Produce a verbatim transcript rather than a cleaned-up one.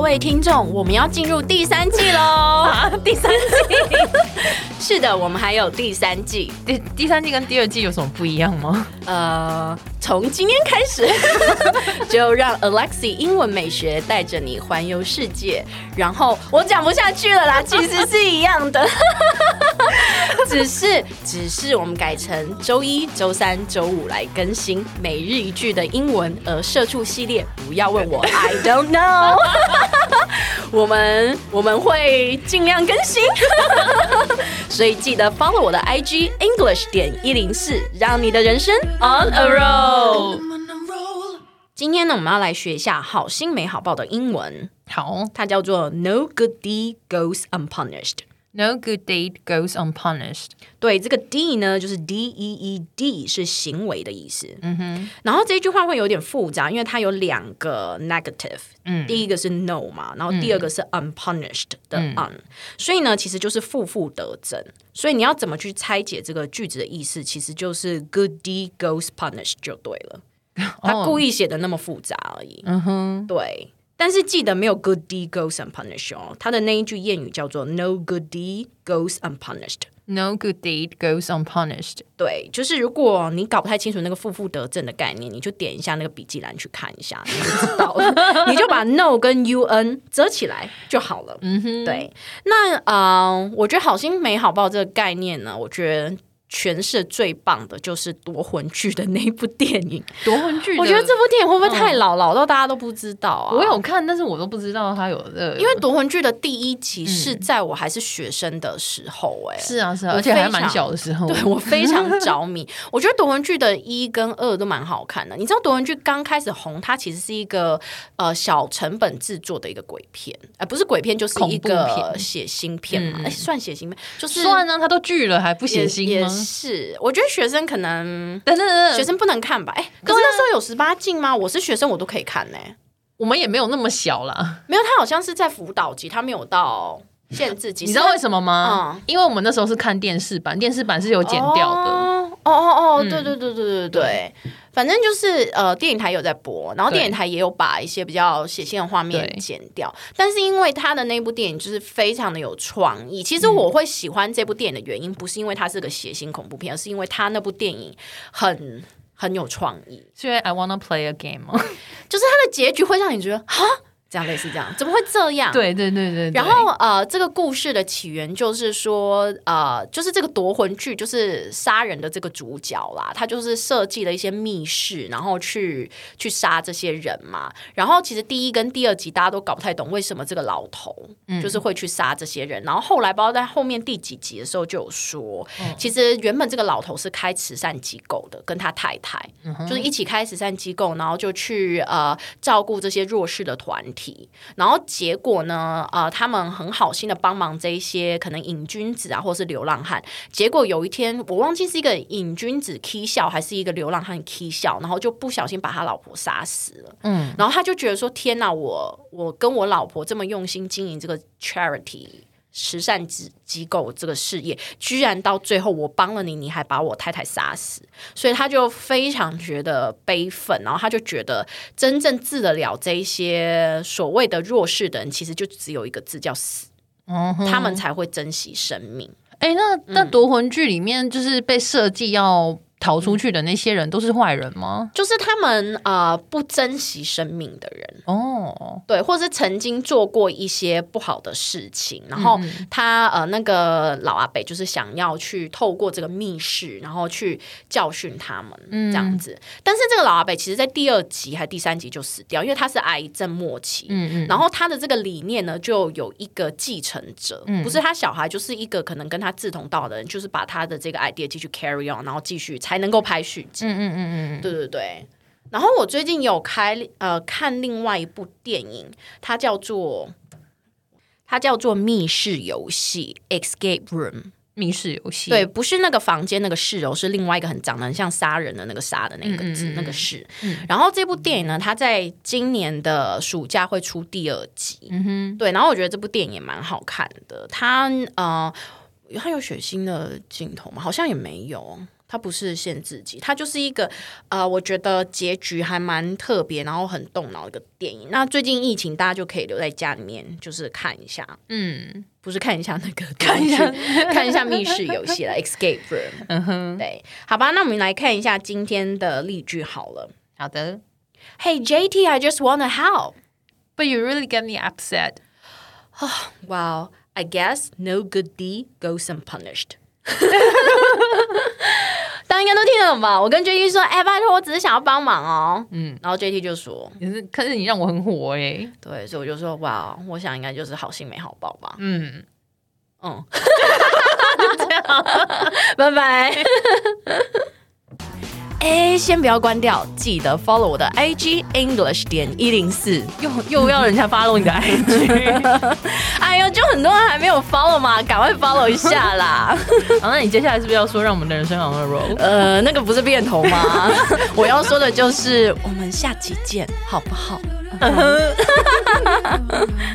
位聽眾，我們要進入第三季嘍！ 啊，第三季？ 是的，我們還有第三季。 第第三季跟第二季有什麼不一樣嗎？ 呃，從今天開始，就讓 Alexi 英文美學帶着你環遊世界。然後我講不下去了啦，其實是一樣的，只是只是我們改成週一、週三、週五來更新每日一句的英文，而社畜系列不要問我 I don't know 我們我們會盡量更新所以記得 follow 我的 I G English 點一零四，讓你的人生 on a roll。 今天呢，我們要來學一下好心沒好報的英文。 好， 它叫做 No good deed goes unpunished。No good deed goes unpunished。 對，这個 D 呢就是 D E E D 是行為的意思。 嗯哼， 然後這句話會有點複雜，因為它有兩個 negative。嗯，第一個是 no 嘛，然後第二個是 unpunished 的 un。嗯，所以呢，其實就是負負得正。所以你要怎麼去拆解這個句子的意思，其實就是 good deed goes punished 就對了。他故意寫的那麼複雜而已。嗯哼，對。但是記得沒有 good deed goes unpunished 哦，他的那一句諺語叫做 no good deed goes unpunished。No good deed goes unpunished。 對，就是如果你搞不太清楚那個負負得正的概念，你就點一下那個筆記欄去看一下，你就知道了。你就把 no 跟 un 折起來就好了。嗯哼，對。那呃，我覺得好心沒好報這個概念呢，我覺得詮釋最棒的就是奪魂鋸的那一部電影。奪魂鋸，我覺得這部電影會不會太老，嗯、老到大家都不知道啊？ 我有看，但是我都不知道它有的。 因為奪魂鋸的第一集是在我還是學生的時候、欸，哎、嗯， 是啊是啊，而且還蠻小的時候。 對，我非常着迷。我覺得奪魂鋸的一跟二都蠻好看的。你知道奪魂鋸剛開始紅，它其實是一個呃小成本制作的一個鬼片，呃，不是鬼片就是一個血腥片嘛？哎、嗯欸，算血腥片，就是算啊，它都鋸了還不血腥嗎？ 是，我覺得學生可能，等等，學生不能看吧？哎、欸，可是那時候有十八禁嗎？我是學生，我都可以看呢、欸。 我們也沒有那麼小啦， 沒有，他好像是在輔導級，他沒有到限制級。 你知道為什麼嗎？嗯，因為我們那時候是看電視版，電視版是有剪掉的。哦哦哦，哦嗯、對對對對對對對。反正就是呃，電影台有在播，然後電影台也有把一些比較血腥的畫面剪掉。但是因為他的那部電影就是非常的有創意。其實我會喜歡這部電影的原因，不是因為它是個血腥恐怖片，而是因為他那部電影很很有創意。 是因為 I wanna play a game 嗎？ 就是它的結局會讓你覺得哈。這樣類似這樣，怎麼會這樣？ 對對對 對, 對。 然後呃，這個故事的起源就是說，呃，就是這個奪魂鋸，就是殺人的這個主角啦，他就是設計了一些密室，然後去去殺這些人嘛。然後其實第一跟第二集大家都搞不太懂為什麼這個老頭就是會去殺這些人。嗯、然後後來不知道在後面第幾集的時候就有說，嗯、其實原本這個老頭是開慈善機構的，跟他太太、嗯、就是一起開慈善機構，然後就去呃照顧這些弱勢的團體。然後結果呢？呃，他們很好心的幫忙這一些可能癮君子啊，或是流浪漢。結果有一天，我忘記是一個癮君子起笑，還是一個流浪漢起笑，然後就不小心把他老婆殺死了。嗯，然後他就覺得說：“天哪，我我跟我老婆這麼用心經營這個 charity。”慈善機構這個事業，居然到最後我幫了你，你還把我太太殺死，所以他就非常覺得悲憤，然後他就覺得真正治得了這一些所謂的弱勢的人，其實就只有一個字叫死，嗯、他們才會珍惜生命。哎，那那奪魂鋸裡面就是被設計要逃出去的那些人都是壞人嗎？就是他們呃不珍惜生命的人哦，對，或是曾經做過一些不好的事情，然後他呃那個老阿伯就是想要去透過這個密室，然後去教訓他們、嗯、這樣子。但是這個老阿伯其實在第二集還第三集就死掉，因為他是癌症末期。嗯嗯，然後他的這個理念呢，就有一個繼承者，嗯、不是他小孩，就是一個可能跟他志同道合的人，就是把他的這個 idea 繼續 carry on， 然後繼續。才能夠拍續集。嗯嗯嗯嗯，對對對。然後我最近有開呃看另外一部電影，它叫做它叫做密室遊戲 （Escape Room）。 密室遊戲， 對，不是那個房間那個室哦，是另外一個很長得很像殺人的那個殺的那個字，嗯嗯嗯那個室。嗯、然後這部電影呢，它在今年的暑假會出第二集。嗯哼，對。然後我覺得這部電影也蠻好看的，它呃。它有血腥的鏡頭嗎？好像也沒有。 它不是限制級，它就是一個呃，我覺得結局還蠻特別，然後很動腦的一個電影。那最近疫情，大家就可以留在家裡面，就是看一下。嗯，不是看一下那個，看一下看一下密室遊戲了，Escape Room。嗯哼，對，好吧，那我們來看一下今天的例句好了。 好的。 Hey J T, I just wanna help, but you really get me upset. Well, I guess no good deed goes unpunished. 大家應該都聽得懂吧？我跟 J T 說：“哎、欸，拜託，我只是想要幫忙哦。”嗯，然後 J T 就說：“ 可是，可是你讓我很火哎、欸。” 對，所以我就說：“哇，我想應該就是好心沒好報吧。”嗯嗯，就這樣，拜拜。哎，先不要關掉，記得 follow 我的 I G English 點一零四， 又又要人家 follow 你的 I G， 哎呦，就很多人還沒有 follow 嘛，趕快 follow 一下啦。 好，那你接下来是不是要說讓我們的人生 on a roll？ 呃，那個不是變頭嗎？我要說的就是我們下期見，好不好？